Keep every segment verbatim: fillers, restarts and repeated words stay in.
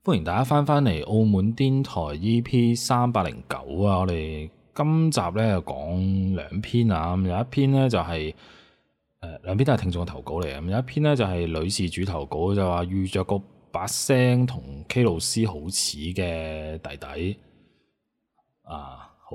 歡迎大家翻返嚟澳門癲台 E P 三百零九啊！我哋今集咧就講兩篇啊，咁有一篇咧就係、是、誒、呃、兩篇都係聽眾嘅投稿嚟嘅，咁有一篇咧就係、是、女事主投稿，就話遇着個把聲同 K 老師好似嘅弟弟啊，好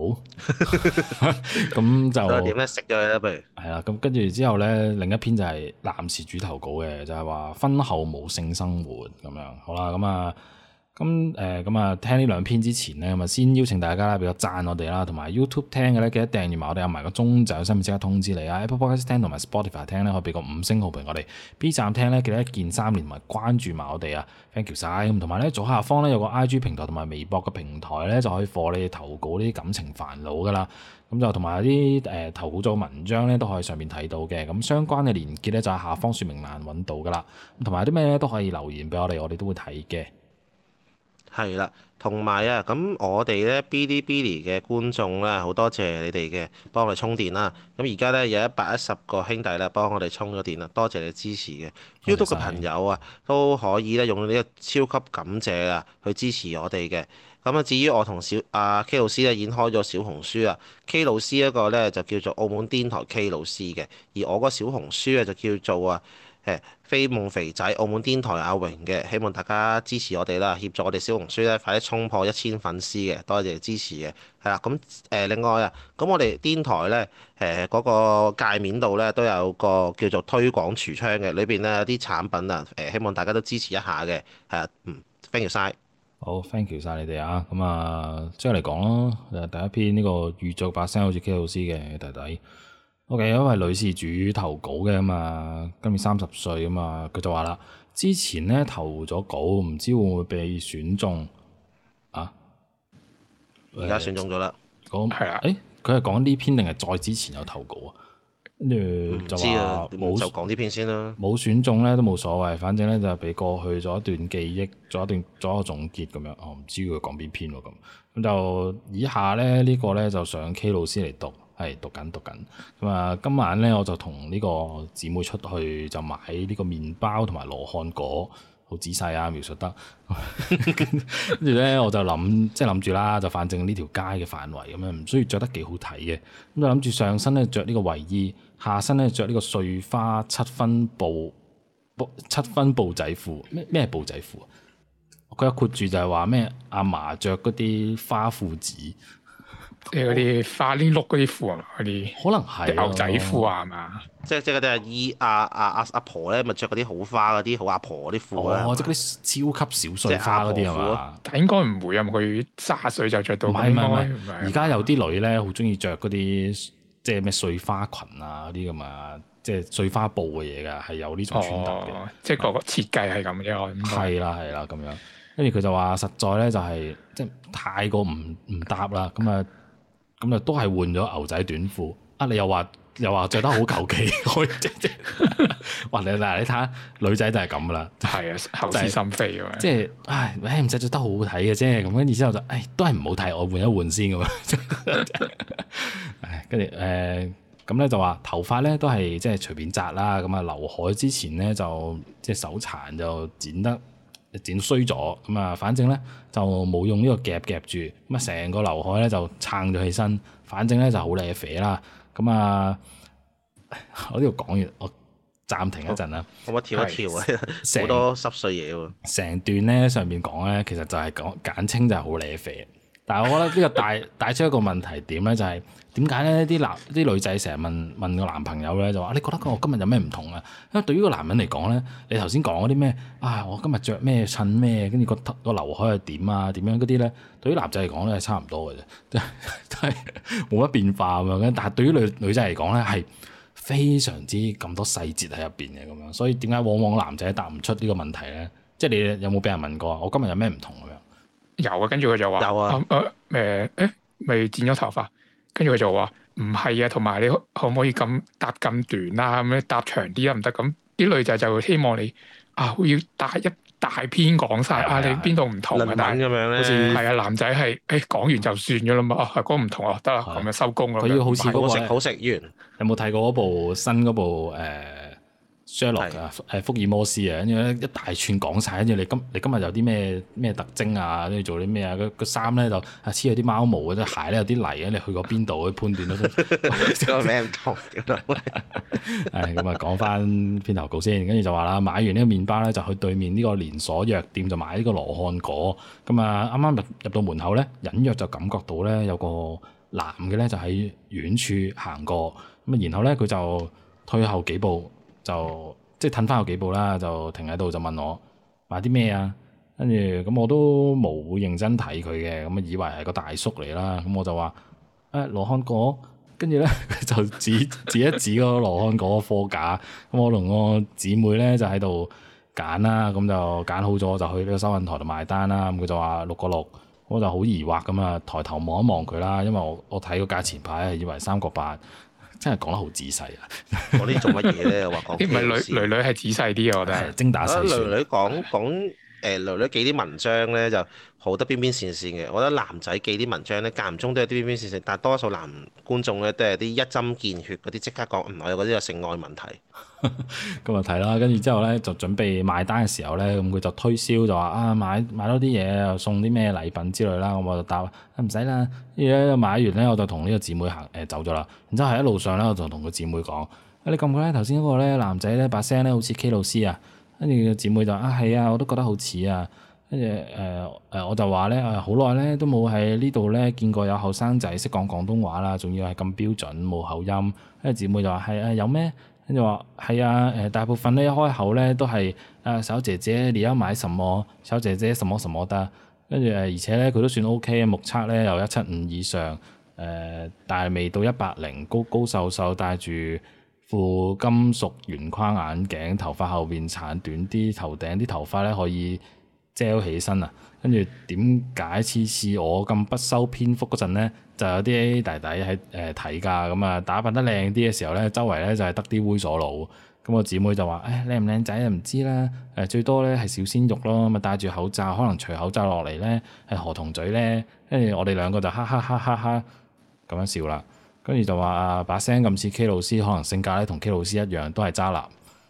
咁就點咧食咗佢啦，不如係啦，咁跟住之後咧，另一篇就係男事主投稿嘅，就係、是、話婚後冇性生活咁樣，好啦，咁啊。咁誒咁啊，聽呢兩篇之前咧，咁啊先邀請大家啦，俾個讚我哋啦，同埋 YouTube 聽嘅咧，記得訂閱埋我哋，有埋個鐘就有新片即刻通知你啊。Apple Podcast 聽同埋 Spotify 聽咧，可以俾個五星好評我哋。B 站聽咧，記得一鍵三連同埋關注埋我哋啊 ，thank you 晒。咁同埋咧，左下方咧有個 I G 平台同埋微博嘅平台咧，就可以幫你哋投稿呢啲感情煩惱噶啦。咁就同埋啲誒投稿咗文章咧，都可以上面睇到嘅。咁相關嘅連結咧，就喺下方說明欄揾到噶啦。同埋啲咩咧都可以留言俾我哋，我哋都會睇嘅。 係啦，同埋啊，咁我哋咧 Bilibili 嘅觀眾咧，好多謝你哋嘅幫我哋充電啦。咁而家咧有一百一十個兄弟咧幫我哋充咗電啦，多謝你支持嘅。YouTube 嘅朋友啊，都可以咧用呢個超級感謝啊去支持我哋嘅。咁啊，至於我同小阿 K 老師咧已經開咗小紅書啊 ，K 老師一個咧就叫做澳門癲台 K 老師嘅，而我個小紅書咧就叫做啊。誒飛夢肥仔澳門癲台阿榮嘅，希望大家支持我哋啦，協助我哋小紅書咧快啲衝破一千粉絲嘅，多謝支持嘅。係啦，咁誒另外啊，咁我哋癲台咧誒嗰個界面度咧都有個叫做推廣櫥窗嘅，裏邊咧有啲產品啊，誒希望大家都支持一下嘅。係啊，嗯，thank you 晒。 好 ，thank you 晒你哋啊。咁啊，即係嚟講咯，誒第一篇呢個遇着把聲好似 K 老師嘅弟弟。O.K. 因為女事主投稿嘅嘛，今年三十歲啊嘛，佢就話啦，之前咧投咗稿，唔知會唔會被選中啊？ 而家選中咗啦。 咁係啊？誒，佢係講呢篇定係再之前有投稿啊？跟住就話冇就講呢篇先啦。 冇選中咧都冇所謂，反正咧就係俾過去咗一段記憶，做一段做一個總結咁樣。我、哦、唔知佢講邊篇喎咁。咁就以下咧呢、這個咧就上 K 老師嚟讀。係讀緊讀緊咁啊！今晚咧我就同呢個姊妹出去就買呢個麵包同埋羅漢果，好仔細啊描述得。跟住咧我就諗即係諗住啦，就反正呢條街嘅範圍咁樣，唔需要着得幾好睇嘅。咁就諗住上身咧着呢個衞衣，下身咧着呢個碎花七分布七分布仔褲。咩咩布仔褲啊？佢有括住就係話咩阿嫲着嗰啲花褲子。 即係嗰啲花呢碌嗰啲褲啊嘛，嗰啲可能係牛仔褲啊，係嘛？ 即係即係嗰啲阿姨阿阿阿阿婆咧，咪着嗰啲好花嗰啲好阿婆嗰啲褲啊！ 哦，即係嗰啲超級小碎花嗰啲係嘛？ 但應該唔會啊，佢卅歲就着到。唔係唔係唔係，而家有啲女咧好中意着嗰啲即係咩碎花裙啊嗰啲咁啊，即係碎花布嘅嘢㗎，係有呢種穿搭嘅。 哦，即係個個設計係咁啫。 係啦係啦咁樣，跟住佢就話實在咧就係即係太過唔唔搭啦，咁啊。咁啊，都係換咗牛仔短褲啊！你又話又話著得好求其，可以即即哇！你嗱你睇下女仔就係咁噶啦， 係啊，口是心非啊！ 即係唉，誒唔使著得好好睇嘅啫，咁跟住之後就誒都係唔好睇，我換一換先咁樣。唉，跟住誒咁咧就話頭髮咧都係即係隨便紮啦，咁啊劉海之前咧就即係手殘就剪得。剪衰咗咁啊！反正咧就冇用呢個夾夾住，咁啊成個劉海咧就撐咗起身。反正咧就好靚啡啦。咁啊，我呢度講完，我暫停一陣啦。 可唔可以跳一跳啊？好多濕碎嘢喎。 成段咧上面講咧，其實就係講簡稱就係好靚啡。但係我覺得呢個帶帶出一個問題點咧，就係點解咧啲男啲女仔成日問問個男朋友咧，就話你覺得我今日有咩唔同啊？因為對於個男人嚟講咧，你頭先講嗰啲咩啊，我今日着咩襯咩，跟住個個劉海係點啊點樣嗰啲咧，對於男仔嚟講咧係差唔多嘅啫，真係冇乜變化咁樣。但係對於女女仔嚟講咧係非常之咁多細節喺入邊嘅咁樣，所以點解往往男仔答唔出呢個問題咧？即係你有冇俾人問過我今日有咩唔同咁樣？ 有啊，跟住佢就話有啊，誒誒誒，咪剪咗頭髮，跟住佢就話唔係啊，同埋你可唔可以咁搭咁短啊？咁樣搭長啲啊，唔得。咁啲女仔就會希望你啊，要大一大篇講晒啊，你邊度唔同啊？但係咁樣咧，好似係啊，男仔係誒講完就算咗啦嘛，啊係講唔同啊，得啦，咁樣收工啦。 佢要好似嗰個好食好食完， 有冇睇過嗰部新嗰部誒 Sherlock 啊，誒福爾摩斯啊，跟住咧一大串講晒，跟住你今你今日有啲咩咩特徵啊，跟住做啲咩啊？個個衫咧就啊黐咗啲貓毛嘅啫，鞋咧有啲泥啊，你去過邊度？去判斷到出個名唔同嘅咯。 誒咁啊，講翻篇投稿先，跟住就話啦，買完呢個麵包咧就去對面呢個連鎖藥店就買呢個羅漢果。咁啊，啱啱入入到門口咧，隱約就感覺到咧有個男嘅咧就喺遠處行過。咁啊，然後咧佢就退後幾步。就即係褪翻後幾步啦，就停喺度就問我買啲咩啊？跟住咁我都冇認真睇佢嘅，咁啊以為係個大叔嚟啦。咁我就話誒羅漢果，跟住咧就指指一指嗰個羅漢果貨架。咁我同我姊妹咧就喺度揀啦，咁就揀好咗就去呢個收銀台度買單啦。咁佢就話六個六，我就好疑惑咁啊，抬頭望一望佢啦，因為我我睇個價錢牌係以為三個八。真係講得好仔細啊！ 講啲做乜嘢咧？話講， 唔係女女女係仔細啲啊！我覺得係精打細算。 女女講講誒，女女記啲文章咧就好得邊邊線線嘅。我覺得男仔記啲文章咧間唔中都有啲邊邊線線，但係多數男觀眾咧都係啲一針見血嗰啲，即刻講唔係我嗰啲有性愛問題。 咁啊睇啦，跟住之後咧就準備買單嘅時候咧，咁佢就推銷就話啊買買多啲嘢又送啲咩禮品之類啦，咁我就答唔使啦。跟住咧買完咧，我就同呢個姊妹行誒、呃、走咗啦。然之後喺一路上咧，我就同個姊妹講：你覺唔覺得頭先嗰個咧男仔咧把聲咧好似 K 老師啊？跟住個姊妹就啊係啊，我都覺得好似啊。跟住誒誒，我就話咧誒好耐咧都冇喺呢度咧見過有後生仔識講廣東話啦，仲要係咁標準冇口音。跟住姊妹就話係啊，有咩？跟住話係啊，誒大部分咧一開口咧都係啊小姐姐你要買什麼？小姐姐什麼什麼得？跟住誒而且咧佢都算 O K 嘅，目測咧有一七五以上，誒、呃、但係未到一百零，高高瘦瘦，戴住副金屬圓框眼鏡，頭髮後邊鏟短啲，頭頂啲頭髮咧可以遮起身啊！跟住點解次次我咁不修邊幅嗰陣咧，就有啲弟弟喺誒睇㗎，咁啊打扮得靚啲嘅時候咧，周圍咧就係得啲猥瑣佬。咁我姊妹就話：誒靚唔靚仔啊？唔知啦。誒最多咧係小鮮肉咯。咁啊戴住口罩，可能除口罩落嚟咧係河童嘴咧。跟住我哋兩個就哈哈哈哈哈咁樣笑啦。跟住就話啊把聲咁似 K 老師，可能性格咧同 K 老師一樣，都係渣男。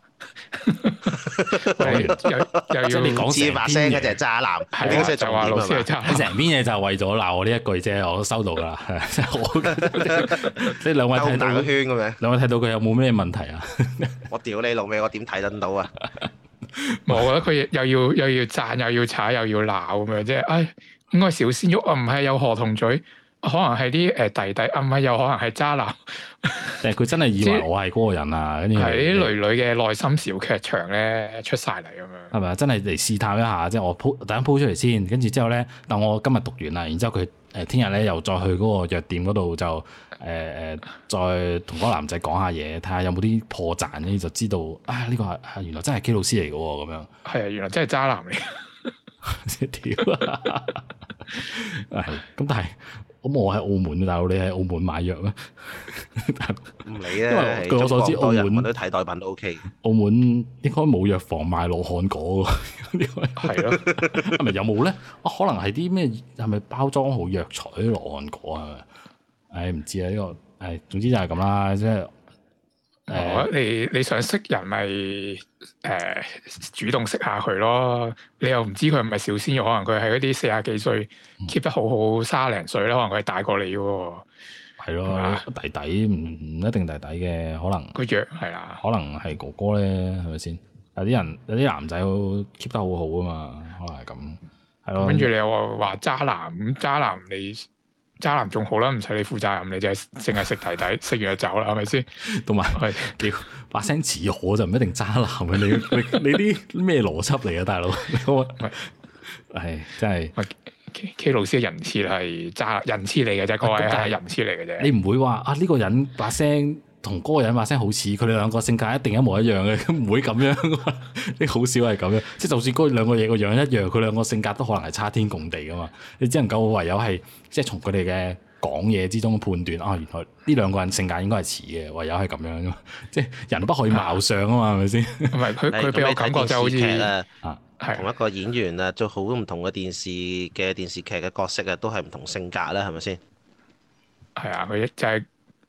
又又要即係你講成把聲嘅就係渣男， 係啊就話老師係渣男。 成篇嘢就係為咗鬧我呢一句啫，我都收到㗎啦。我即係兩位睇到個圈咁樣，兩位睇到佢有冇咩問題啊？ 我屌你老味，我點睇得到啊？ 我覺得佢又要又要讚又要踩又要鬧咁樣啫。唉，應該小鮮肉啊，唔係有河童嘴。可能係啲誒弟弟，啊唔係又可能係渣男。 誒佢真係以為我係嗰個人啊，跟住係啲女女嘅內心小劇場咧出晒嚟咁樣。 係咪啊？真係嚟試探一下，即係我鋪等陣鋪出嚟先，跟住之後咧，但我今日讀完啦，然之後佢誒聽日咧又再去嗰個藥店嗰度就誒誒、呃、再同嗰個男仔講下嘢，睇下有冇啲破綻，跟住就知道啊呢、呢個係原來真係 K 老師嚟嘅喎咁樣。係啊，原來真係渣男嚟。 屌啊！係咁，但係。咁我喺澳門，大佬你喺澳門買藥咩？ 唔理啊， 因為據我所知，澳門啲替代品都 OK。 澳門應該冇藥房賣羅漢果喎， 係咯， 係咪有冇咧？啊，可能係啲咩？係咪包裝好藥材啲羅漢果啊？唉，唔知啊，呢個唉，總之就係咁啦，即係。 哦，你你想識人咪誒、呃、主動識下佢咯？你又唔知佢係咪小鮮肉，可能佢係嗰啲四廿幾歲 keep 得好好，卅零歲咧，可能佢係大過你嘅喎。係咯吧，弟弟唔唔一定弟弟嘅，可能個樣係啦， 可能係哥哥咧，係咪先？有啲人有啲男仔 keep 得好好啊嘛，可能係咁，係咯。跟住你又話話渣男咁，渣男你。渣男仲好啦，唔使你負責任，你就係淨係食弟弟，食完就走啦，係咪先？同埋係屌把聲似我就唔一定渣男嘅，你你你啲咩邏輯嚟啊，大佬？係真係 K, K 老師嘅人設係渣人設嚟嘅啫，各位係人設嚟嘅啫。你唔會話啊呢、呢個人把聲同嗰個人把聲好似，佢哋兩個性格一定一模一樣嘅，唔會咁樣。你好少係咁樣，即係就算嗰兩個嘢個樣一樣，佢兩個性格都可能係差天共地噶嘛。你只能夠唯有係即係從佢哋嘅講嘢之中判斷啊，原來呢兩個人性格應該係似嘅，唯有係咁樣啫。即係人不可以貌相啊嘛，係咪先？唔係佢佢俾我感覺就好似啊，同一個演員啊，做好唔同嘅電視嘅電視劇嘅角色啊，都係唔同性格啦，係咪先？ 係啊，佢就係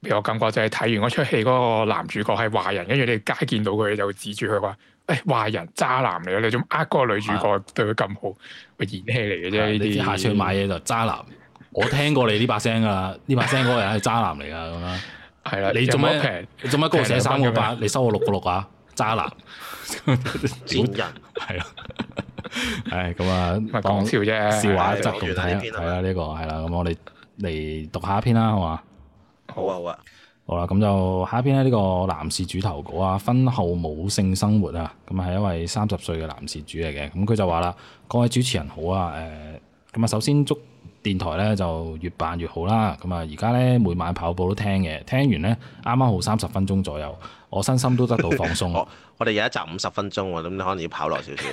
俾我感覺就係睇完嗰出戲嗰個男主角係壞人，跟住你街見到佢就會指住佢話：誒壞人渣男嚟嘅，你仲呃嗰個女主角對佢咁好，佢演戲嚟嘅啫。呢啲下次去買嘢就渣男。我聽過你呢把聲噶啦，呢把聲嗰個人係渣男嚟噶咁樣。係啦，你做咩平？你做乜嗰度寫三個八？你收我六個六啊？渣男， 賤人係啊，係咁啊， 講笑啫， 笑話則咁睇係啦，呢個係啦，咁我哋嚟讀下一篇啦，好嘛？ 好啊好啊， 好啦，咁就下一篇咧，呢個男事主投稿啊，婚後冇性生活啊，咁係一位三十歲嘅男事主嚟嘅，咁佢就話啦：各位主持人好啊，誒，咁啊，首先祝電台咧就越辦越好啦，咁啊，而家咧每晚跑步都聽嘅，聽完咧啱啱好三十分鐘左右，我身心都得到放鬆。 我我哋有一集五十分鐘喎，咁你可能要跑耐少少。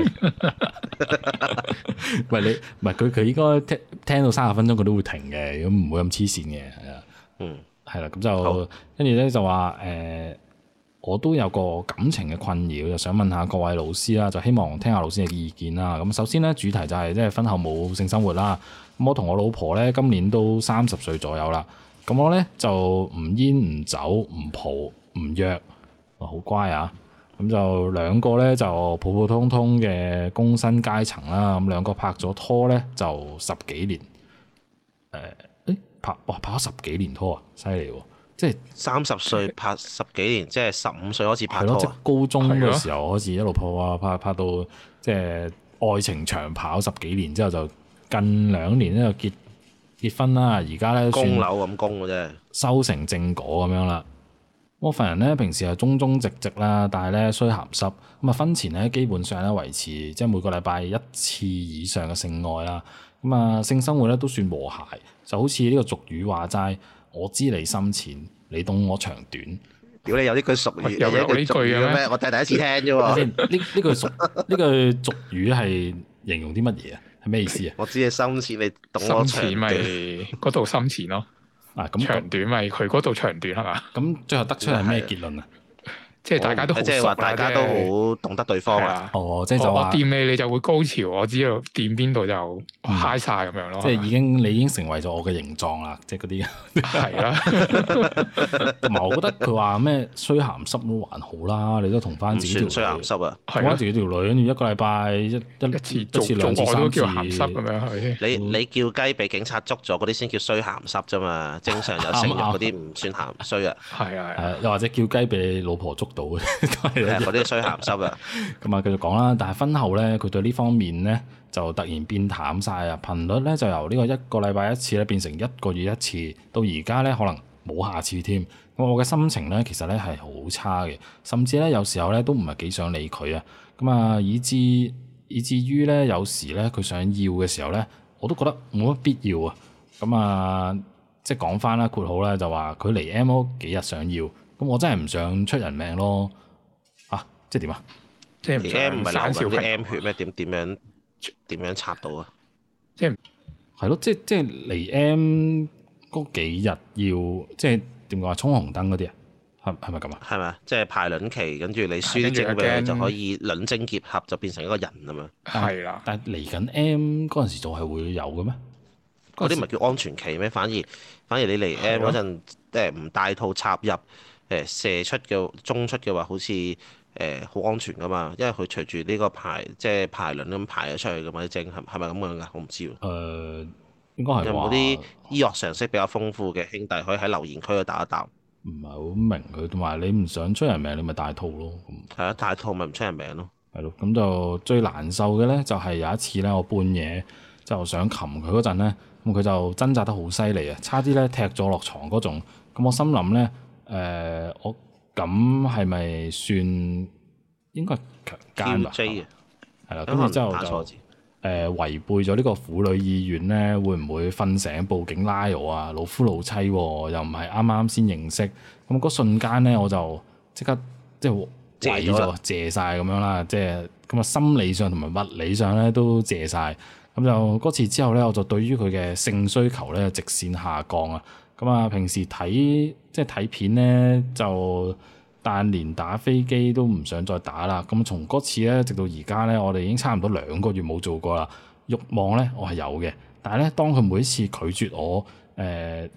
唔係你唔係佢佢應該聽聽到三十分鐘佢都會停嘅，咁唔會咁黐線嘅，係啊。嗯，係啦，咁就跟住咧就話誒、呃，我都有個感情嘅困擾，就想問下各位老師啦，就希望聽下老師嘅意見啦。咁首先咧，主題就係即係婚後冇性生活啦。咁我同我老婆咧今年都三十歲左右啦。咁我咧就唔煙唔酒唔蒲唔約，好乖啊。咁就兩個咧就普普通通嘅工薪階層啦。咁兩個拍咗拖咧就十幾年，誒、呃。拍哇拍咗十幾年拖啊，犀利喎！即係三十歲拍十幾年，即係十五歲開始拍拖啊！ 即係高中嘅時候開始一路拍啊拍拍到即係愛情長跑十幾年之後，就近兩年咧就結結婚啦。而家咧供樓咁供嘅啫， 收成正果咁樣啦。我份人咧平時係忠忠直直啦，但係咧衰鹹濕咁啊。婚前咧基本上咧維持即係每個禮拜一次以上嘅性愛啦。咁啊性生活咧都算和諧。就好似呢個俗語話齋，我知你深淺，你懂我長短。 如果你有呢句俗語， 有呢句嘅咩？ 我第第一次聽啫喎。 呢呢句俗呢句俗語係形容啲乜嘢啊？係咩意思啊？ 我知你深淺，你懂我長短。 深淺咪嗰度深淺咯。啊，咁長短咪佢嗰度長短係嘛？ 咁最後得出係咩結論啊？ 即係大家都好熟， 即係話大家都好懂得對方啊！ 哦，即係就話我掂你，你就會高潮；我知道掂邊度就嗨晒咁樣咯。 即係已經你已經成為咗我嘅形狀啦，即係嗰啲。 係啦。 同埋我覺得佢話咩衰鹹濕都還好啦，你都同翻自己條衰鹹濕啊， 同翻自己條女，跟住一個禮拜一一次一次兩次三次鹹濕咁樣係。 你你叫雞俾警察捉咗嗰啲先叫衰鹹濕啫嘛，正常有性慾嗰啲唔算鹹衰啊。 係啊係。 又或者叫雞俾你老婆捉到嘅， 係嗰啲衰鹹濕啊！ 咁啊，繼續講啦。但係婚後咧，佢對呢方面咧就突然變淡晒啊！頻率咧就由呢個一個禮拜一次咧變成一個月一次，到而家咧可能冇下次添。咁我嘅心情咧其實咧係好差嘅，甚至咧有時候咧都唔係幾想理佢啊。咁啊，以至以至於咧有時咧佢想要嘅時候咧，我都覺得冇乜必要啊。咁啊，即係講翻啦，括號咧就話佢嚟 M 嗰幾日想要。咁我真係唔想出人命咯，啊，即係點啊？ 即係 M 唔係流緊啲 M 血咩？點點樣點樣插到啊？ 即係係咯，即係即係嚟 M 嗰幾日要即係點講啊？衝紅燈嗰啲啊？係係咪咁啊？係咪啊？ 即係排卵期，跟住你輸啲精俾佢就可以卵精結合，就變成一個人啊嘛。 係啦， 但係嚟緊 M 嗰陣時就係會有嘅咩？ 嗰啲唔係叫安全期咩？反而反而你嚟 M 嗰陣誒唔帶套插入。誒射出嘅中出嘅話，好似誒好安全噶嘛，因為佢隨住呢個排即係排卵咁排咗出去噶嘛啲精，係係咪咁樣噶？我唔知喎。誒、 呃，應該係有冇啲醫學常識比較豐富嘅兄弟可以喺留言區度答一答？ 唔係好明佢，同埋你唔想出人命，你咪戴套咯。 係啊，戴套咪唔出人命咯。 係咯，咁就最難受嘅咧，就係有一次咧，我半夜就想擒佢嗰陣咧，咁佢就掙扎得好犀利啊，差啲咧踢咗落床嗰種。咁我心諗咧。誒、呃，我咁係咪算應該係強姦吧？係啦，跟住之後就誒、呃、違背咗呢個婦女意願咧，會唔會瞓醒報警拉我啊？老夫老妻喎，又唔係啱啱先認識，咁嗰瞬間咧，我就即刻即係毀咗謝晒咁樣啦，即係咁啊，心理上同埋物理上咧都謝晒。咁就嗰次之後咧，我就對於佢嘅性需求咧直線下降啊。咁啊，平時睇即係睇片咧，就但連打飛機都唔想再打啦。咁從嗰次咧，直到而家咧，我哋已經差唔多兩個月冇做過啦。慾望咧，我係有嘅，但係咧，當佢每一次拒絕我誒呢、呃、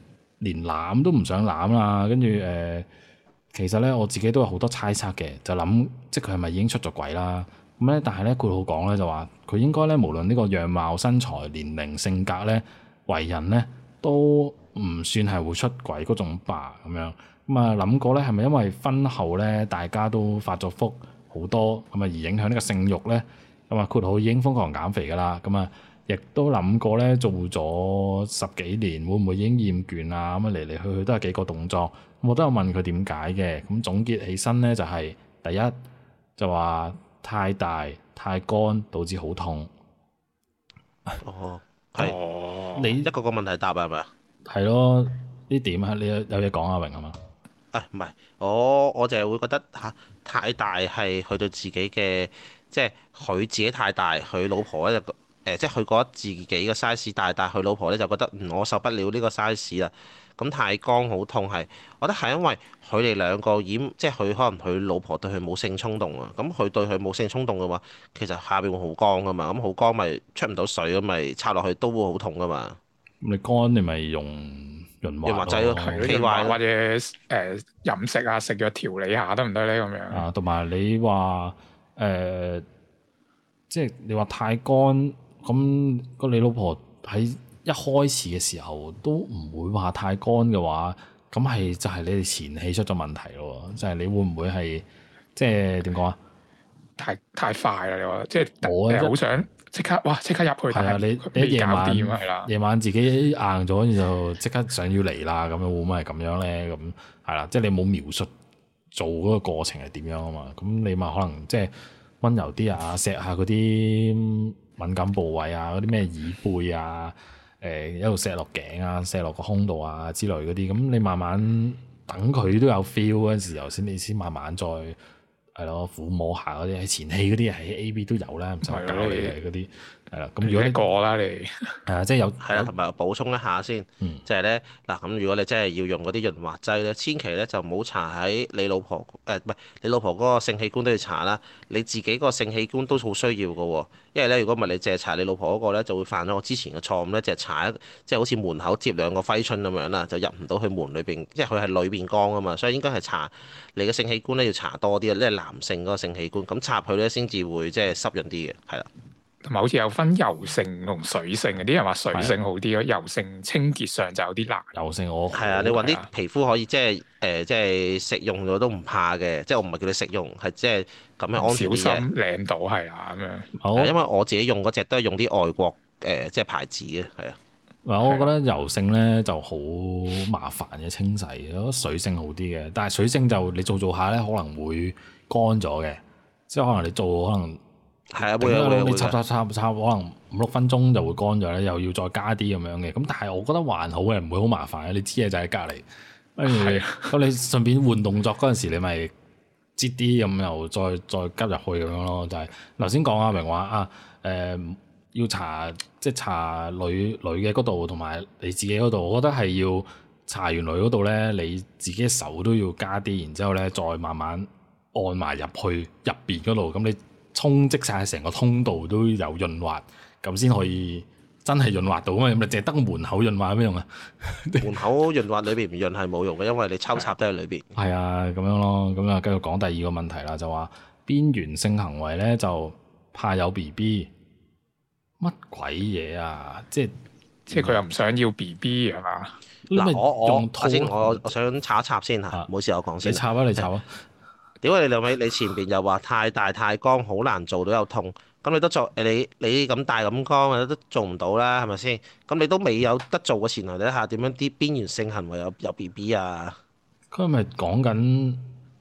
連攬都唔想攬啦，跟住誒，其實咧我自己都有好多猜測嘅，就諗即係佢係咪已經出咗軌啦？咁咧，但係咧佢好講咧就話佢應該咧無論呢個樣貌、身材、年齡、性格咧、為人咧，都唔算係會出軌嗰種吧咁樣。咁啊諗過咧係咪因為婚後咧大家都發咗福好多咁啊而影響呢個性慾咧？咁啊括號已經瘋狂減肥㗎啦，咁啊亦都諗過咧做咗十幾年會唔會已經厭倦啊？咁啊嚟嚟去去都係幾個動作，我都有問佢點解嘅。咁總結起身咧就係、是、第一就話太大太乾導致好痛。 哦，係。 哦， 你一個個問題答係咪啊？ 係咯，呢點啊？你有有嘢講阿榮係嘛？ 啊，唔係，我我就係會覺得嚇、啊、太大係去到自己嘅，即係佢自己太大，佢老婆咧就誒，即係佢覺得自己嘅 size 大，但係佢老婆咧就覺得嗯我受不了呢個 size 啦。咁太乾好痛係，我覺得係因為佢哋兩個已經即係佢可能佢老婆對佢冇性衝動啊，咁佢對佢冇性衝動嘅話，其實下邊會好乾噶嘛，咁好乾咪出唔到水咁咪插落去都會好痛噶嘛。 咁你乾你咪用潤滑劑咯， 潤滑或者誒飲食啊食藥調理下得唔得咧咁樣？啊， 同埋你話誒、呃，即係你話太乾咁，個你老婆喺一開始嘅時候都唔會話太乾嘅話，咁係就係你哋前戲出咗問題咯，就係、是、你會唔會係即係點講啊？ 太太快啦！你話即係我誒好想即刻哇！即刻入去， 係啊！你你夜晚夜晚自己硬咗，然後即刻想要嚟啦，咁樣會唔會係咁樣咧？咁係啦，即係你冇描述做嗰個過程係點樣啊嘛？咁你咪可能即係溫柔啲啊，錫下嗰啲敏感部位啊，嗰啲咩耳背啊，誒、呃、一路錫落頸啊，錫落個胸度啊之類嗰啲，咁你慢慢等佢都有 feel 嗰陣時候，先你先慢慢再。係咯，撫摸下嗰啲喺前戲嗰啲喺 A V 都有啦，唔使教你嘅嗰啲係啦。咁如果你過啦，你係啊，即係有係啦，同埋補充一下先，嗯、就係咧嗱，咁如果你真係要用嗰啲潤滑劑咧，千祈咧就唔好搽喺你老婆誒，唔係你老婆嗰個性器官都要搽啦，你自己個性器官都好需要嘅喎。因為咧，如果唔係你淨係搽你老婆嗰個咧，就會犯咗我之前嘅錯誤咧，就係搽一即係好似門口貼兩個揮春咁樣啦，就入唔到去門裏邊，即係佢係裏邊乾啊嘛，所以應該係搽你嘅性器官咧要搽多啲啊，即係男性嗰個性器官咁插佢咧先至會即係濕潤啲嘅，係啦。 同埋好似有分油性同水性嘅，啲人話水性好啲咯，的油性清潔上就有啲難。 油性我係啊，你揾啲皮膚可以即係誒，即係食用咗都唔怕嘅，即係我唔係叫你食用，係即係咁樣安全啲嘅。小心舐到係啊咁樣。好，因為我自己用嗰隻都係用啲外國誒、呃、即係牌子嘅，係啊。 嗱，我覺得油性咧就好麻煩嘅清洗，我覺得水性好啲嘅，但係水性就你做做下咧可能會乾咗嘅，即係可能你做可能。 係啊，會啊會啊， 你插插插插，可能五六分鐘就會乾咗咧，又要再加啲咁樣嘅。咁但係我覺得還好嘅，唔會好麻煩嘅。你知嘅就喺隔離，跟住咁你順便換動作嗰陣時，你咪擠啲咁，又再再加入去咁樣咯。就係頭先講阿明話啊，誒、呃、要搽即係搽女女嘅嗰度同埋你自己嗰度，我覺得係要搽完女嗰度咧，你自己手都要加啲，然之後咧再慢慢按埋入去入邊嗰度，咁你。充積晒成個通道都有潤滑，咁先可以真係潤滑到啊嘛！咁你淨係得門口潤滑有咩用啊？ 門口潤滑裏邊唔潤係冇用嘅，因為你抽插都喺裏邊。 係啊，咁樣咯，咁啊繼續講第二個問題啦，就話邊緣性行為咧就怕有 B B，乜鬼嘢啊？即係即係佢又唔想要 B B 係嘛？ 嗱，我我我先我我想插一插先嚇，冇事我講先。 你插啊！你插啊！ 屌你兩位，你前邊又話太大太乾，好難做到有痛，咁你都做誒？你你咁大咁乾，都做唔到啦，係咪先？咁你都未有得做嘅前提底下，點樣啲邊緣性行為有有 B B 啊？ 佢咪講緊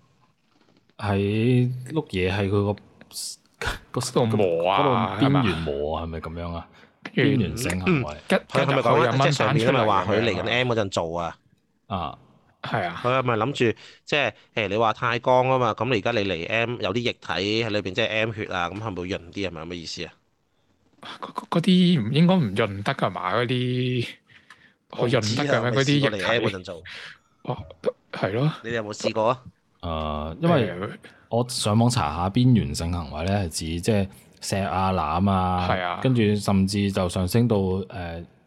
喺碌嘢係佢個嗰度磨啊，嗰度邊緣磨啊，係咪咁樣啊？邊緣性行為， 佢係咪講即係上面咪話佢嚟緊 M 嗰陣做啊？ 啊！ 係啊， 佢係咪諗住即係誒？你話太乾啊嘛，咁你而家你嚟 M 有啲液體喺裏邊，即係 M 血啊，咁係咪會潤啲？係咪咁嘅意思啊？ 嗰啲唔應該唔潤得㗎嘛？嗰啲好潤得㗎咩？嗰啲液體嗰陣做哦，係咯。 你哋有冇試過啊？ 誒、呃，因為我上網查下邊緣性行為咧，係指即係錫啊攬啊， 係啊， 跟住甚至就上升到誒。呃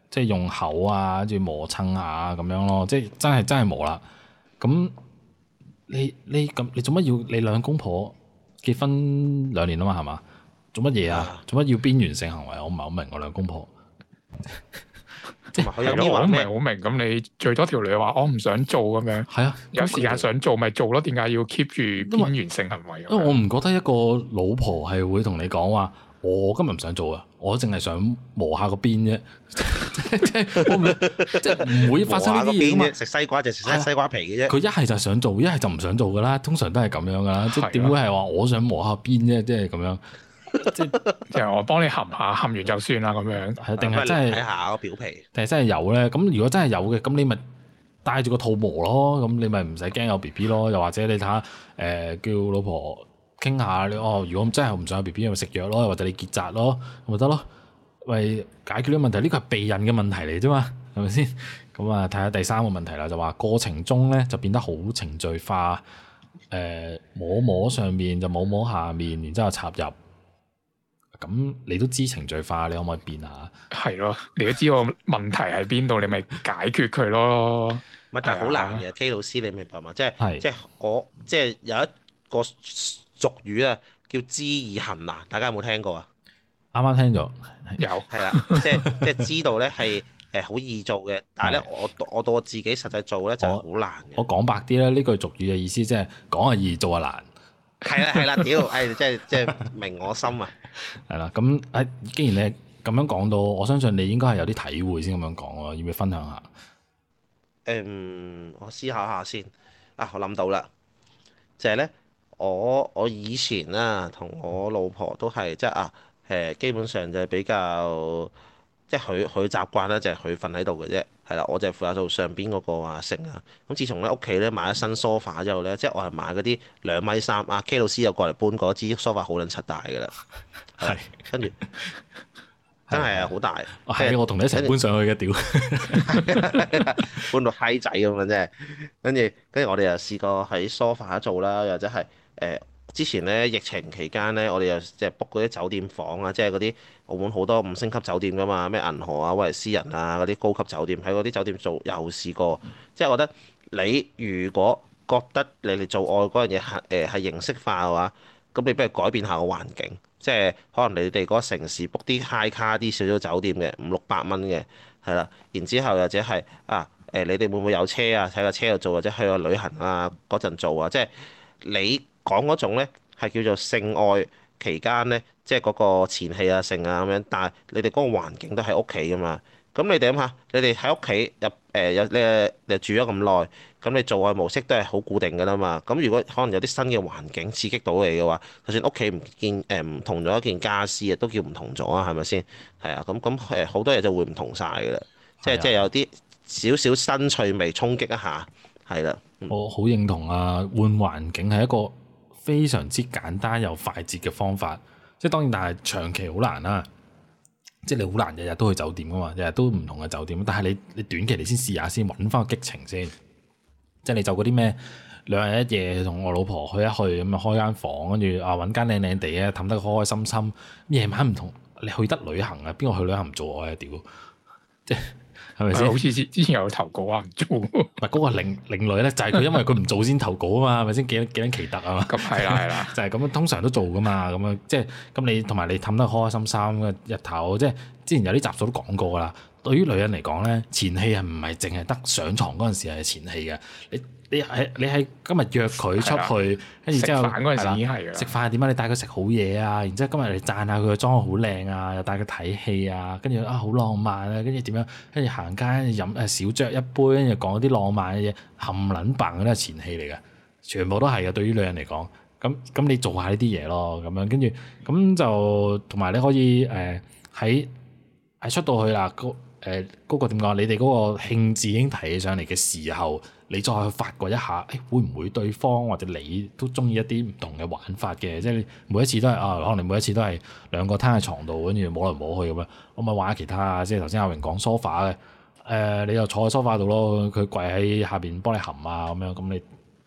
即係用口啊，跟住磨蹭下咁樣咯，即係真係真係磨啦。咁你你咁你做乜要你兩公婆結婚兩年啊嘛係嘛？做乜嘢啊？做乜要邊緣性行為？我唔係好明我兩公婆。即係係咯，我唔係好明。咁你最多條女話我唔想做咁樣，係啊，有時間想做咪做咯。點解要 keep 住邊緣性行為？ 因為我唔覺得一個老婆係會同你講話，我今日唔想做啊，我淨係想磨下個邊啫。即係我唔即係唔會發生呢啲嘢啊嘛。 食西瓜就食西瓜皮嘅啫。 佢一係就想做，一係就唔想做噶啦。通常都係咁樣噶啦。即係點會係話我想磨下邊啫？即係咁樣。即係我幫你含下，含完就算啦咁樣。係定係真係睇下個表皮？定係真係有咧？咁如果真係有嘅，咁你咪帶住個肚磨咯。咁你咪唔使驚有 B B 咯。又或者你睇下誒，叫老婆傾下你哦。如果真係唔想有 B B，咪食藥咯，或者你結紮咯，咁咪得咯。為解決呢個問題，呢個係避孕嘅問題嚟啫嘛，係咪先？咁啊，睇下第三個問題啦，就話過程中咧就變得好程序化。誒、呃，摸摸上面就摸摸下面，然之後插入。咁你都知程序化，你可唔可以變下？ 係咯，你都知我問題喺邊度，你咪解決佢咯。 問題好難嘅 ，K 老師你明白嘛？即係即係我即係有一個俗語啊，叫知易行難，大家有冇聽過啊？ 啱啱聽咗， 有係啦，即係即係知道咧係誒好易做嘅，但係咧我我到我自己實際做咧就好難嘅。 我講白啲咧，呢句俗語嘅意思即係講係易，做係難。 係啦係啦，屌，誒即係即係明我心啊！ 係啦，咁誒，既然你咁樣講到，我相信你應該係有啲體會先咁樣講咯，要唔要分享下？ 誒、嗯，我思考下先。啊，我諗到啦，就係、是、咧，我我以前啦，同我老婆都係即係啊，誒，基本上就係比較，即係佢佢習慣咧，就係佢瞓喺度嘅啫。係啦，我就係負責做上邊嗰個啊成啊。咁自從咧屋企咧買咗新 sofa 之後咧，即係我係買嗰啲兩米三啊 K 老師又過嚟搬過支 sofa 好撚柒大㗎啦。係，跟住真係啊，好大。 係我同你一齊搬上去嘅屌， 搬到閪仔咁樣啫。跟住跟住我哋又試過喺 sofa 做啦，或者係誒、呃、之前咧疫情期間咧，我哋又即係 book 嗰啲酒店房啊，即係嗰啲澳門好多五星級酒店㗎嘛，咩銀河啊、威尼斯人啊嗰啲高級酒店，喺嗰啲酒店做又試過。即係我覺得你如果覺得你哋做愛嗰樣嘢係誒係形式化嘅話，咁你不如改變下個環境。即係可能你哋嗰個城市 book 啲 high 卡啲少少酒店嘅五六百蚊嘅，係啦。然之後或者係啊誒，你哋會唔會有車啊？喺個車度做，或者去個旅行啊嗰陣做啊？即係你講嗰種咧係叫做性愛期間咧，即係嗰個前戲啊、性啊咁樣。但係你哋嗰個環境都喺屋企噶嘛。咁你哋諗下，你哋喺屋企入誒有你你住咗咁耐。咁你做愛模式都係好固定㗎啦嘛，咁如果可能有啲新嘅環境刺激到你嘅話，就算屋企唔見誒唔同咗一件家私啊，都叫唔同咗啊，係咪先？係啊，咁咁誒好多嘢就會唔同晒㗎啦，即係即係有啲少少新趣味衝擊一下，係啦。嗯、 我好認同啊，換環境係一個非常之簡單又快捷嘅方法，即係當然，但係長期好難啦。即係你好難日日都去酒店㗎嘛，日日都唔同嘅酒店，但係你你短期你先試下先，揾翻個激情先。即係你就嗰啲咩兩日一夜同我老婆去一去咁啊，開間房，跟住啊揾間靚靚地嘅氹得開開心心。夜晚唔同，你去得旅行啊？邊個去旅行唔做愛啊？屌！即係係咪先？ 好似之前有投稿啊，唔做。唔係嗰個另另類咧，就係佢因為佢唔做先投稿啊嘛，係咪先？幾幾撚奇特啊嘛？ 咁係啦係啦， 就係咁樣，通常都做噶嘛。咁樣即係咁你同埋你氹得開開心心嘅日頭，即係之前有啲集數都講過噶啦。對於女人嚟講咧，前戲係唔係淨係得上床嗰陣時係前戲嘅？你你係你係今日約佢出去，跟住之後食飯嗰陣時已經係㗎。 食飯點解你帶佢食好嘢啊？然之後今日你讚下佢個妝好靚啊，又帶佢睇戲啊，跟住啊好浪漫啊，跟住點樣？跟住行街飲誒小酌一杯，跟住講啲浪漫嘅嘢，冚撚棒嗰啲係前戲嚟嘅，全部都係嘅。對於女人嚟講，咁咁你做下呢啲嘢咯，咁樣跟住咁就同埋你可以誒喺喺出到去啦。誒嗰個點講？你哋嗰個興致已經提起上嚟嘅時候，你再去發掘一下，誒會唔會對方或者你都中意一啲唔同嘅玩法嘅？即係每一次都係啊，可能你每一次都係兩個攤喺床度，跟住摸嚟摸去咁樣，我咪玩下其他啊！即係頭先阿榮講 sofa 嘅，誒你又坐喺 sofa 度咯，佢跪喺下邊幫你含啊咁樣，咁你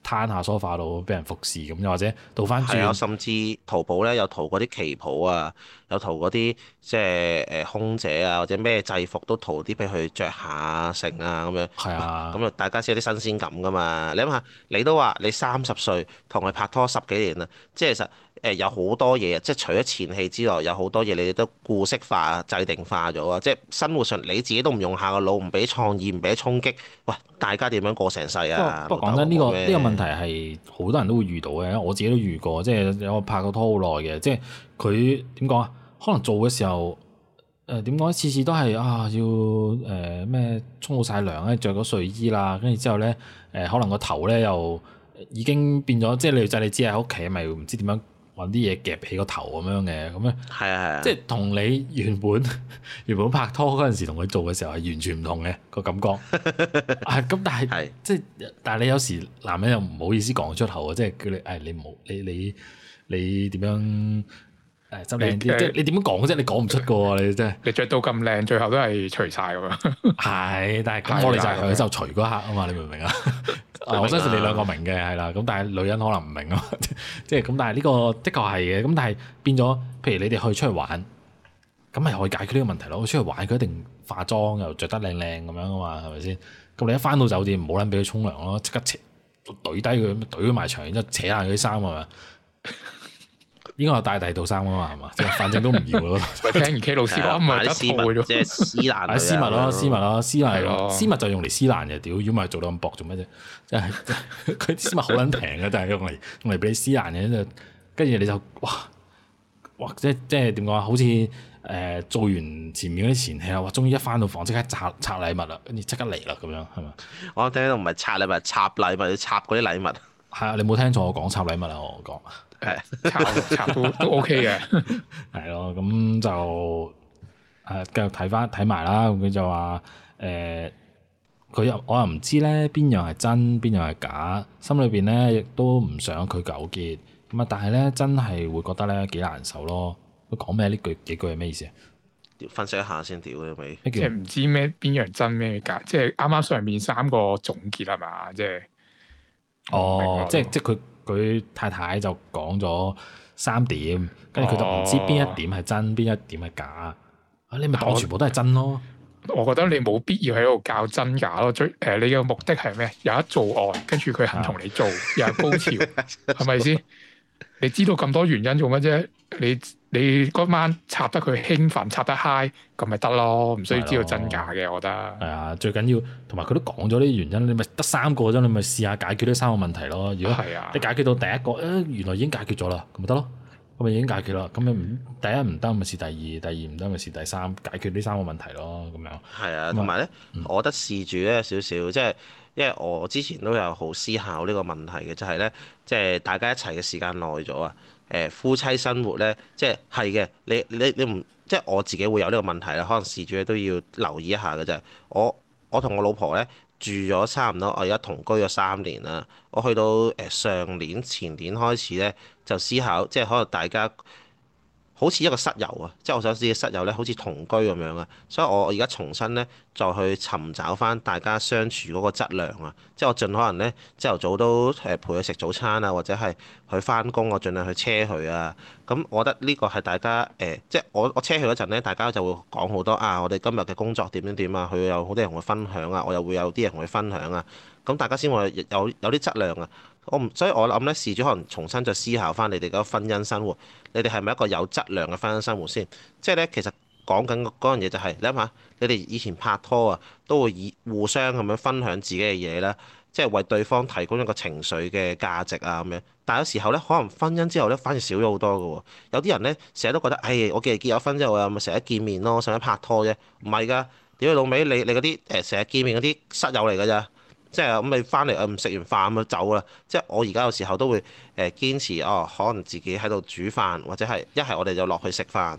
攤下梳化度俾人服侍咁，又或者倒翻轉。 係啊，甚至淘寶咧有淘嗰啲旗袍啊，有淘嗰啲即係誒空姐啊，或者咩制服都淘啲俾佢着下成啊咁樣。 係啊， 咁啊大家先有啲新鮮感噶嘛。你諗下，你都話你三十歲同佢拍拖十幾年啦，即係其實誒有好多嘢，即係除咗前戲之外，有好多嘢你哋都固式化、制定化咗啊！即係生活上你自己都唔用下個腦，唔俾創意，唔俾衝擊，喂，大家點樣過成世啊？ 不過講真，呢個呢個問題係好多人都會遇到嘅，我自己都遇過，即係有拍過拖好耐嘅，即係佢點講啊？可能做嘅時候誒點講？次次都係啊要誒咩沖好晒涼咧，着咗睡衣啦，跟住之後咧誒、呃、可能個頭咧又已經變咗，即係女仔你知喺屋企咪唔知點樣揾啲嘢夾起個頭咁樣嘅，咁樣係啊係啊， 即係同你原本原本拍拖嗰陣時同佢做嘅時候係完全唔同嘅個感覺。係咁，但係是即係但係你有時男人又唔好意思講出口啊，即係叫你誒你唔好你你你點樣誒執靚啲，即係你點樣講啫？你講唔出個喎，你真係你着到咁靚，最後都係除晒咁樣。係，但係咁我哋就係享受除嗰刻啊嘛，你明唔明啊？我相信你兩個明嘅係啦，咁但係女人可能唔明啊，即係咁。但係呢個的確係嘅，咁但係變咗，譬如你哋去出去玩，咁咪可以解決呢個問題咯。出去玩佢一定化妝又着得靚靚咁樣啊嘛，係咪先？咁你一翻到酒店唔好撚俾佢沖涼咯，即刻扯懟低佢，懟佢埋牆，然之後扯爛佢啲衫啊嘛。應該係帶第二套衫啊嘛，係嘛？即係反正都唔要咯。聽完 K 老師講，咪得絲襪即係絲蘭。 係絲襪咯，絲襪咯，絲襪咯，絲襪就用嚟絲蘭嘅。屌，如果唔係做到咁薄做咩啫？即係佢啲絲襪好撚平嘅，但係用嚟用嚟俾你絲蘭嘅，就跟住你就哇哇！即即係點講啊？好似誒、呃、做完前面嗰啲前戲啊，哇！終於一翻到房即刻拆拆禮物啦，跟住即刻嚟啦咁樣係嘛？ 我聽到唔係拆禮物，插禮物，要插嗰啲禮物。 係啊，你冇聽錯我講插禮物啊！我講。 係插插都都 OK 嘅， 係咯，咁就誒繼續睇翻睇埋啦。咁佢就話誒，佢、呃、又我又唔知咧邊樣係真，邊樣係假，心裏邊咧亦都唔想佢糾結。咁啊，但係咧真係會覺得咧幾難受咯。佢講咩呢句幾句係咩意思啊？ 分析一下先，屌你咪， 即係唔知咩邊樣真咩假，即係啱啱上面三個總結係嘛？即係哦，即係即係佢。佢太太就講咗三點，跟住佢就唔知邊一點係真，邊、哦、一點係假。啊，你咪當全部都係真咯。 我覺得你冇必要喺度較真假咯。最誒、呃，你嘅目的係咩？有得做愛，跟住佢肯同你做，又係高潮，係咪先？你知道咁多原因做乜啫？你你嗰晚插得佢興奮，插得嗨，咁咪得咯，唔需要知道真假嘅。我覺得係啊， 最緊要同埋佢都講咗啲原因，你咪得三個啫，你咪試下解決呢三個問題咯。如果係啊，你解決到第一個，誒、哎、原來已經解決咗啦，咁咪得咯，咁咪已經解決啦。咁你唔第一唔得咪試第二，第二唔得咪試第三，解決呢三個問題咯，咁樣。係啊，同埋咧，嗯、我覺得事主咧少少，即係因為我之前都有好思考呢個問題嘅，就係、是、咧，即係大家一齊嘅時間耐咗啊。誒夫妻生活咧，即係係嘅，你你你唔即係我自己會有呢個問題啦。可能事主咧都要留意一下嘅啫。我我同我老婆咧住咗差唔多，我而家同居咗三年啦。我去到誒上年前年開始咧，就思考即係可能大家好似一個室友啊，即係我想知嘅室友咧，好似同居咁樣啊。所以我而家重新咧再去尋找翻大家相處嗰個質量啊。即係我盡可能咧朝頭早都誒陪佢食早餐啊，或者係佢翻工，我盡量去車佢啊。咁我覺得呢個係大家誒、呃，即係我我車佢嗰陣咧，大家就會講好多啊。我哋今日嘅工作點點點啊，佢有好多人同佢分享啊，我又會有啲人同佢分享啊。咁大家先會有有啲質量啊。我唔，所以我諗咧，事主可能重新再思考翻你哋嗰個婚姻生活，你哋係咪一個有質量嘅婚姻生活先？即係咧，其實講緊嗰樣嘢就係、是，你諗下，你哋以前拍拖啊，都會以互相咁樣分享自己嘅嘢啦，即係為對方提供一個情緒嘅價值啊咁樣。但係有時候咧，可能婚姻之後咧，反而少咗好多嘅喎。有啲人咧，成日都覺得，唉，我既然結咗婚之後啊，咪成日見面咯，成日拍拖啫。唔係㗎，屌你老味，你你嗰啲誒成日見面嗰啲室友嚟㗎咋？即係咁你翻嚟啊，唔食完飯咁就走啦。即係我而家有時候都會誒堅持哦，可能自己喺度煮飯，或者係一係我哋就落去食飯。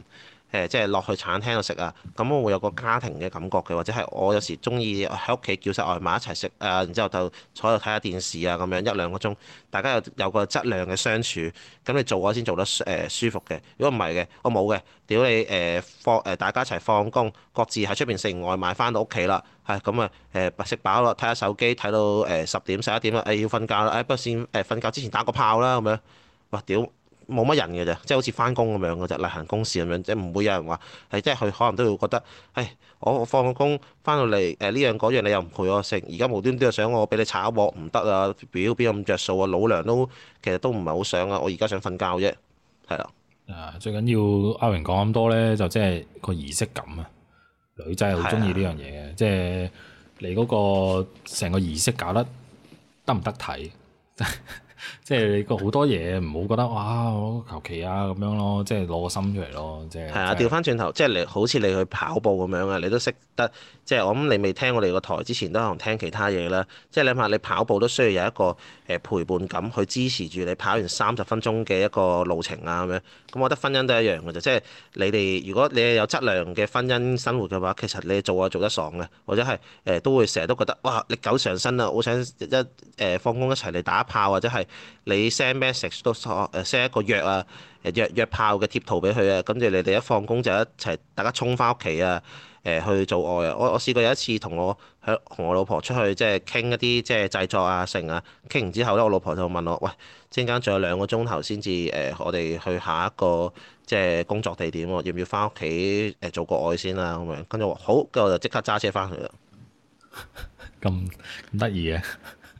誒即係落去餐廳度食啊，咁我會有個家庭嘅感覺嘅，或者係我有時中意喺屋企叫晒外賣一齊食啊，然之後就坐喺度睇下電視啊咁樣一兩個鐘，大家有有個質量嘅相處，咁你做我先做得誒舒服嘅。如果唔係嘅，我冇嘅，屌你誒放誒大家一齊放工，各自喺出邊食完外賣翻到屋企啦，係咁啊誒食飽啦，睇下手機睇到誒十點十一點啦，誒要瞓覺啦，誒不過先誒瞓覺之前打個炮啦咁樣，哇屌！冇乜人嘅啫，即係好似翻工咁樣嘅啫，例行公事咁樣，即係唔會有人話係即係佢可能都會覺得，誒我我放個工翻到嚟誒呢樣嗰樣你又唔陪我食，而家無端端又想我俾你炒鑊唔得啊，表邊有咁着數啊，老娘都其實都唔係好想啊，我而家想瞓覺啫，係啦。 啊，最緊要阿榮講咁多咧，就即係個儀式感啊，女仔係好中意呢樣嘢嘅，即係你嗰個成個儀式搞得得唔得睇？即係你個好多嘢唔好覺得哇，我求其啊咁樣咯，即係攞個心出嚟咯，即係。係啊，調翻轉頭，即係你好似你去跑步咁樣啊，你都識得，即係我諗你未聽我哋個台之前都可能聽其他嘢啦。即係你諗下，你跑步都需要有一個誒陪伴感去支持住你跑完三十分鐘嘅一個路程啊咁樣。咁我覺得婚姻都一樣嘅啫，即係你哋如果你係有質量嘅婚姻生活嘅話，其實你做啊做得爽嘅，或者係誒都會成日都覺得哇歷久常新啊，好想一誒放工一齊嚟打炮，或者係你 send message 都誒 send 一個約啊誒約約炮嘅貼圖俾佢啊，跟住你哋一放工就一齊大家衝翻屋企啊誒去做愛啊！我我試過有一次同我喺同我老婆出去即係傾一啲即係製作啊成啊，傾完之後咧，我老婆就問我：喂，陣間仲有兩個鐘頭先至誒，我哋去下一個即係工作地點喎，要唔要翻屋企誒做個愛先啊？咁樣跟住我話好，跟住我就即刻揸車翻去啦。 咁咁得意嘅，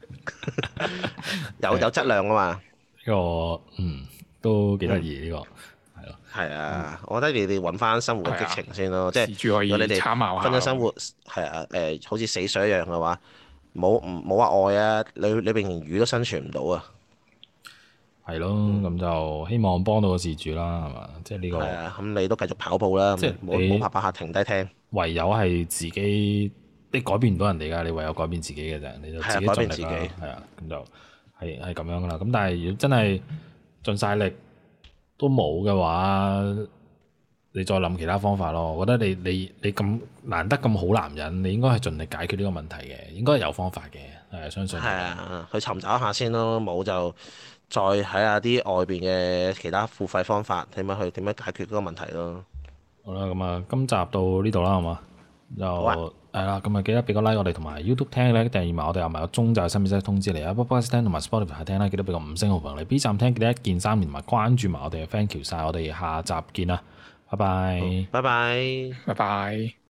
有有質量啊嘛！ 呢個嗯都幾得意呢個。 係啊，我覺得你哋揾翻生活嘅激情先咯， 啊、 即係如果你哋婚姻生活係啊誒，好似死水一樣嘅話，冇唔冇話愛啊，你你連魚都生存唔到啊。 係咯，咁就希望幫到個事主啦，係嘛？即係呢個。係啊，咁你都繼續跑步啦，即係冇冇拍拍下停低聽。 唯有係自己，你改變唔到人哋㗎，你唯有改變自己嘅啫，你就自己盡力啦。係啊，咁就係係咁樣㗎啦。咁但係如果真係盡晒力，都冇嘅話，你再諗其他方法咯。我覺得你你你咁難得咁好男人，你應該係盡力解決呢個問題嘅，應該係有方法嘅，係相信。係啊，去尋找一下先咯，冇就再睇下啲外邊嘅其他付費方法，點樣去點樣解決嗰個問題咯。 好啦，咁啊，今集到呢度啦，好嘛？就係啦，咁啊記得俾個 like 我哋，同埋 YouTube 聽咧訂閱埋我哋，有埋個鐘就係新片即通知你啊。Podcast 聽同埋 Spotify 聽啦，記得俾個五星好評你。B 站聽記得一鍵三連同埋關注埋我哋嘅 thank you 晒，我哋下集見啦，拜拜， 拜拜， 拜拜。